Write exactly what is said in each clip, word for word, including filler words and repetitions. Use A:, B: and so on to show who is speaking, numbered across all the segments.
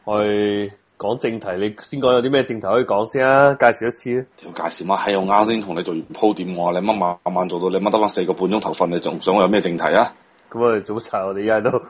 A: 去講正題，你先講有啲咩正題可以講先啊？介紹一次啊！
B: 條介紹乜閪？我啱先同你做完鋪墊，我話你乜晚晚做到你乜得翻四個半鐘頭瞓，你仲想我有咩正題啊？
A: 咁我哋早查，我哋而家都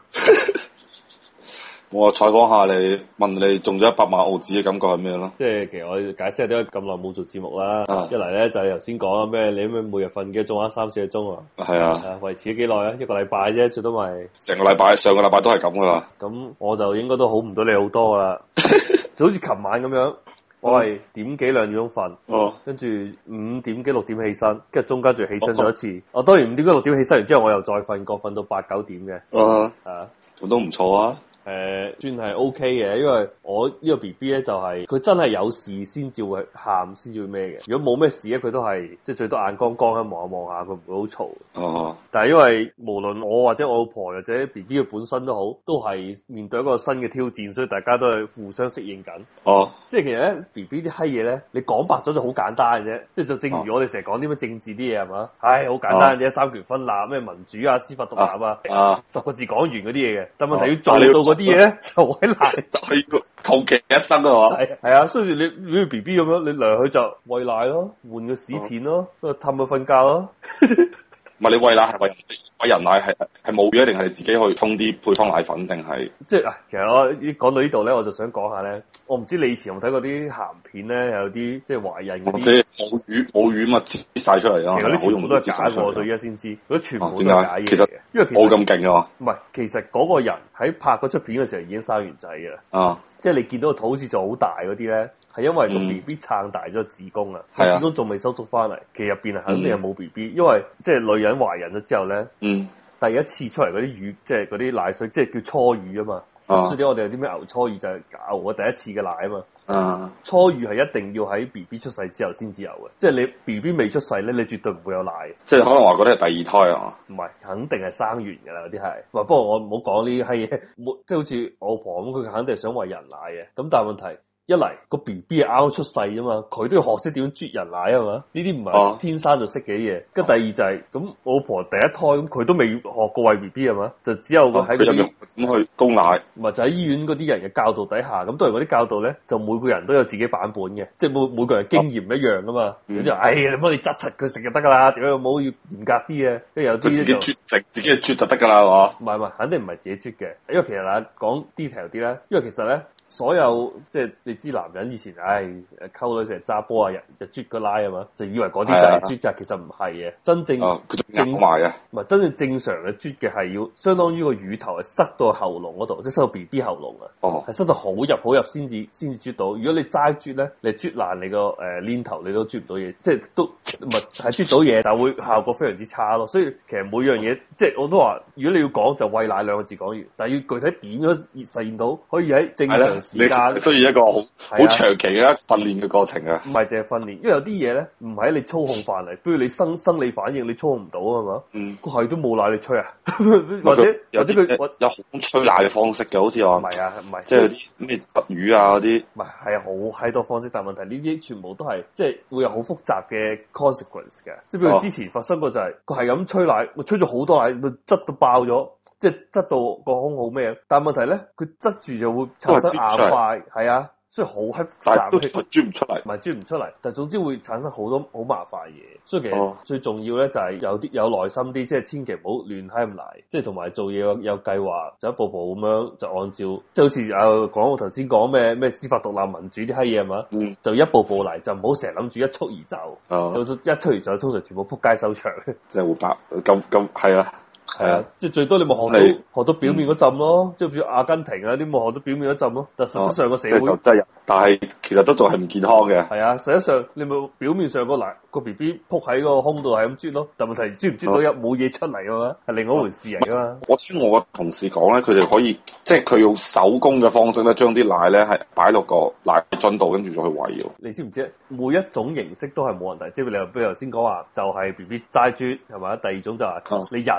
B: 我話採訪下你，問你中咗一百萬澳紙嘅感覺係咩咯？
A: 即係其實我解釋下點解咁耐冇做節目啦。
B: 啊
A: 一嚟咧就係頭先講咩，你咩每日瞓幾個鐘啊？三四個鐘啊？
B: 係啊，
A: 係維持咗幾耐啊？一個禮拜啫，最多咪
B: 成個禮拜，上個禮拜都係咁噶啦。
A: 咁，我就應該都好唔到你好多噶啦。就好似琴晚咁樣，我係點幾兩點鐘瞓，
B: 哦，
A: 跟住五點幾六點起身，跟住中間仲起身咗一次。我、哦、當然五點幾六點起身完之後，我又再瞓過，瞓到八九點嘅。
B: 啊，
A: 啊，
B: 咁都唔錯啊。
A: 誒、呃，算係 O K 嘅，因為我呢個 B B 咧就係、是、佢真係有事先至會喊，先至會咩嘅。如果冇咩事咧，佢都係即係最多眼光光喺望下望下，佢唔會好嘈。
B: 哦，
A: 但係因為無論我或者我老婆或者 B B 佢本身都好，都係面對一個新嘅挑戰，所以大家都係互相適應緊。
B: 哦，
A: 即係其實咧 B B 啲閪嘢咧，你講白咗就好簡單嘅啫。即係就正如我哋成日講啲咩政治啲嘢係嘛，唉好簡單嘅啫，三權分立咩民主啊、司法獨立啊，
B: 啊，
A: 十個字講完嗰啲嘢嘅。但問題要做到嗰啲嘢咧，就好難，
B: 就係要求其一生啊嘛。
A: 係係啊，所以你你個 B B 咁樣，你嚟佢就餵奶咯，換個屎片咯，跟住氹佢瞓覺咯。
B: 唔係你餵奶係餵餵人奶係係冇嘅，定係你自己去沖啲配方奶粉定係？
A: 即係啊，其實我講到呢度咧，我就想講下咧，我唔知你以前有冇睇過啲鹹片咧，有啲即係懷孕嗰啲，
B: 即係母乳母乳嘛，擠晒出嚟啊！
A: 其實啲全部都係假嘅，我到而家先知，嗰啲全部都係假嘢嘅。因為
B: 冇咁勁啊！
A: 唔係，其實嗰個人喺拍嗰出片嘅時候已經生完仔嘅啦。
B: 啊！
A: 即係你見到個肚好似就好大嗰啲咧，係因為個 B B 撐大咗個子宮啊，個、嗯、子宮仲未收縮翻嚟，其實入邊係肯定係冇 B B，因為即係女人懷孕咗之後咧，嗯、第一次出嚟嗰啲乳，即係嗰啲奶水，即係叫初乳啊嘛。啊所以我哋有啲咩牛初乳就係牛我第一次嘅奶啊嘛。啊初乳係一定要喺 B B 出世之後先至有嘅，即係你 B B 未出世咧，你絕對唔會有奶。即係
B: 可能話嗰啲係第二胎啊？
A: 唔係，肯定係生完㗎啦，嗰啲係。不過我唔好講呢啲閪嘢，即係好似我婆咁，佢肯定係想餵人奶嘅。咁但係問題。一嚟個 B B 係啱啱出世啫嘛，佢都要學識點樣啜人奶啊嘛，呢啲唔係天生就識嘅嘢。跟住、啊、第二就係、是、咁，我老婆第一胎咁，佢都未學過餵 B B 係嘛，就只有喺嗰啲
B: 咁去供奶，
A: 唔係就喺醫院嗰啲人嘅教導底下，咁當然嗰啲教導咧，就每個人都有自己版本嘅，即係每每個人經驗唔一樣噶嘛。咁、啊、就唉，你幫你執柒佢食就得噶啦，點解冇要嚴格啲嘅？跟住有啲
B: 自己啜食，自己啜就得噶啦，係嘛？
A: 唔係唔係，肯定唔係自己啜嘅，因為其實嗱講 detail 啲咧，因為其實咧。所有即係你知男人以前唉溝女成日揸波啊，日日啜個奶啊嘛，就以為嗰啲就係啜㗎，其實唔係嘅，真正正
B: 埋啊，
A: 唔係真正正常嘅啜嘅係要相當於個乳頭係塞到喉嚨嗰度，即係塞到 B B 喉嚨啊，係、哦、塞到好入好入先至先至啜到。如果你齋啜咧，你啜爛你個誒鏈頭，你都啜唔到嘢，即係都唔係係啜到嘢，但係會效果非常之差咯。所以其實每樣嘢即係我都話，如果你要講就餵奶兩個字講完，但係要具體點樣實現到可以喺正常時間
B: 需要一個好好長期嘅訓練嘅過程啊！
A: 唔係淨係訓練，因為有啲嘢咧唔喺你操控範圍，比如你生生理反應你操控唔到啊嘛。嗯，個係都冇奶你吹啊，或者或者佢
B: 有好吹奶嘅方式嘅，好似話
A: 唔係啊，唔係
B: 即係啲咩特乳啊嗰啲，
A: 唔係係好閪多方式，但係問題呢啲全部都係即係會有好複雜嘅 consequence 嘅，即係比如之前發生過就係佢係咁吹奶，我吹咗好多奶，佢擠到爆咗。即係擠到個胸好咩？但係問題咧，佢擠住就會產生硬塊，係啊，所以好閪複雜，
B: 都啜唔出嚟，
A: 唔係啜唔出嚟，但係總之會產生好多好麻煩嘢。所以其實最重要咧就係有啲有耐心啲，即係千祈唔好亂閪咁嚟，即係同埋做嘢有有計劃，就一步步咁樣就按照，即係好似誒講我頭先講咩咩司法獨立民主啲閪嘢係嘛，嗯、就一步步嚟，就唔好成日諗住一蹴而就，哦、一蹴而就通常全部撲街收場。
B: 即係會白咁咁係啊！
A: 係啊，即係最多你咪學到你學到表面嗰陣咯，即係譬如阿根廷啊啲冇學到表面嗰陣咯，但實質上個社會，
B: 哦、但係其實都仲係唔健康嘅。
A: 係啊，實質上你咪表面上個奶個 B B 撲喺個胸度係咁啜咯，但問題啜唔啜到有冇嘢出嚟噶嘛，係另外一回事嚟噶嘛。
B: 我聽我個同事講咧，佢哋可以即係佢用手工嘅方式咧，將啲奶咧係擺落個奶樽度，跟住再去餵。
A: 你知唔知？每一種形式都係冇問題，即係你譬如頭先講話就係 B B 齋啜係咪？第二種就係你人手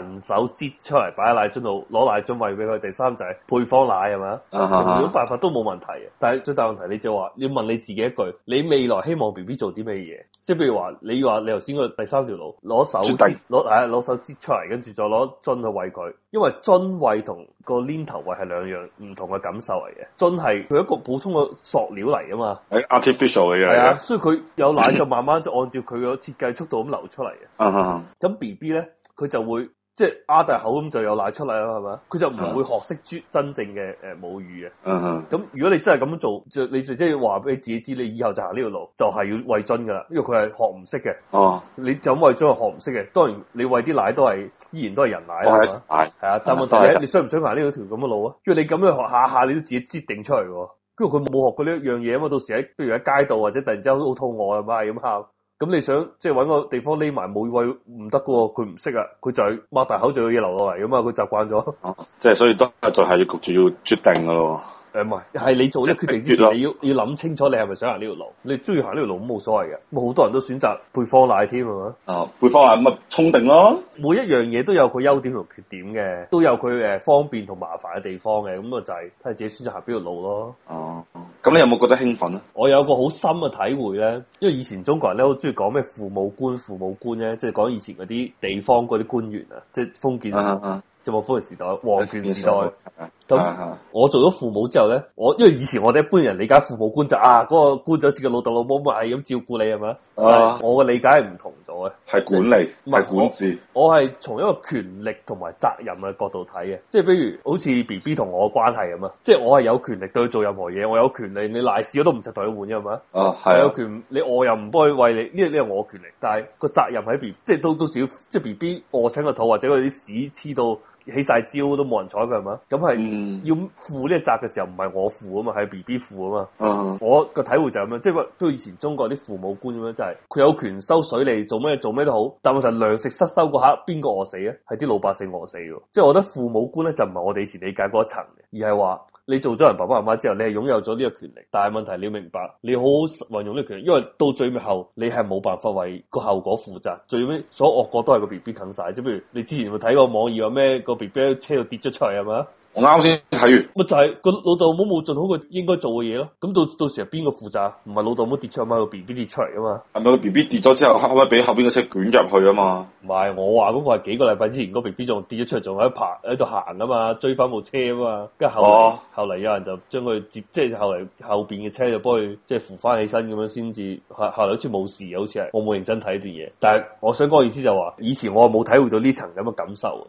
A: 手擠出嚟擺喺奶樽度，攞奶樽餵俾佢。第三就係配方奶係嘛，用呢種辦法都冇問題嘅。但係最大問題你就話要問你自己一句，你未來希望 B B 做啲咩嘢？即係譬如話你話你頭先個第三條路攞手擠攞係攞手擠出嚟，跟住再攞樽去餵佢，因為樽餵同個鏈頭餵係兩樣唔同嘅感受嚟嘅。樽係佢一個普通嘅塑料嚟啊嘛，
B: 係 artificial 嘅嘢，係啊，
A: 所以佢有奶就慢慢就按照佢個設計速度咁流出嚟嘅。咁 B B 咧佢就會。即係擘大口咁就有奶出嚟啦，係嘛？佢就唔會學識啜真正嘅誒母乳嘅。嗯哼。咁如果你真係咁樣做，就你就即係話俾你自己知，你以後就行呢條路，就係要餵樽噶啦，因為佢係學唔識嘅。哦。你就咁餵樽係學唔識嘅，當然你餵啲奶都係依然都係人奶啦。係啊。係啊，但係問題係你想唔想行呢條咁嘅路啊？因為你咁樣學下下，你都自己擠定出嚟喎。跟住佢冇學過呢一樣嘢啊嘛，到時喺譬如喺街道或者突然之間好肚餓啊嘛，係咁喊。咁你想即係搵個地方匿埋冇位唔得噶喎，佢唔識啊，佢就係擘大口就有嘢流落嚟噶嘛，佢習慣咗。哦，即係所以都係就係要焗住要決定噶咯。誒唔係，係你做呢個決定之前，你要要諗清楚你係咪想行呢條路。你中意行呢條路咁冇所謂嘅，咁好多人都選擇配方奶添係嘛。哦，配方奶咁咪沖定咯。每一樣嘢都有佢優點同缺點嘅，都有佢誒方便同麻煩嘅地方嘅，咁啊就係睇下自己選擇行邊條路咯。哦，咁你有冇覺得興奮啊？我有個好深嘅體會咧，因為以前中國人咧好中意講咩父母官、父母官咧，即係講以前嗰啲地方嗰啲官員啊，即係封建。啊啊即係冇封建時代、皇權時代，咁我做咗父母之後咧，我因為以前我哋一般人理解父母官就啊，嗰、那個官就好似個老豆老母咁係咁照顧你係嘛？啊，我嘅理解係唔同咗嘅，係管理，唔係管治。我係從一個權力同埋責任嘅角度睇嘅，即係比如好似 B B 同我嘅關係咁啊，即係我係有權力對佢做任何嘢，我有權利你賴屎我都唔使同佢換嘅係嘛？啊，係有權你餓又唔幫佢餵你，呢呢係我嘅權力，但係個責任喺 B， 即係都都少，即係 B B 餓親個肚或者佢啲屎黐到。起晒招都冇人睬佢係嘛？咁係要負呢個責嘅時候，唔係我負啊嘛，係 B B 負啊嘛。嗯、我個體會就係咁樣，即係話都以前中國啲父母官咁樣，就係、是、佢有權收水利做咩做咩都好，但問題糧食失收嗰刻，邊個餓死啊？係啲老百姓餓死嘅。即係我覺得父母官咧就唔係我哋以前理解嗰一層嘅，而係話。你做咗人爸爸媽媽之後，你係擁有咗呢個權力，但係問題你要明白，你好好運用呢個權力，因為到最後你係冇辦法為個後果負責，最尾所有惡果都係個 B B 啃晒。即係譬如你之前有冇睇過網頁話咩個 B B 喺車度跌咗出嚟係嘛？我啱先睇完，咪就係、是、個老豆老母冇盡好佢應該做嘅嘢咯。咁到到時係邊個負責？唔係老豆老母跌出嚟，係個 B B 跌出嚟啊嘛？係咪個 B B 跌咗之後，可唔可以俾後邊嘅車捲入去啊嘛？唔係，我話嗰個係幾個禮拜之前個 B B 仲跌咗出嚟，仲喺度爬喺度行啊嘛，追翻部車啊嘛，跟住後、哦、後嚟有人就將佢接，即係後嚟後邊嘅車就幫佢即係扶翻起身咁樣先至，後後嚟好似冇事，好似係我冇認真睇呢段嘢。但係我想講嘅意思就話、是，以前我冇體會到呢層咁嘅感受。